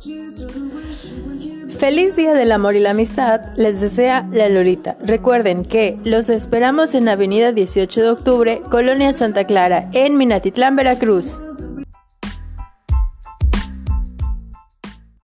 Feliz Día del Amor y la Amistad, les desea la Lolita. Recuerden que los esperamos en Avenida 18 de Octubre, Colonia Santa Clara, en Minatitlán, Veracruz.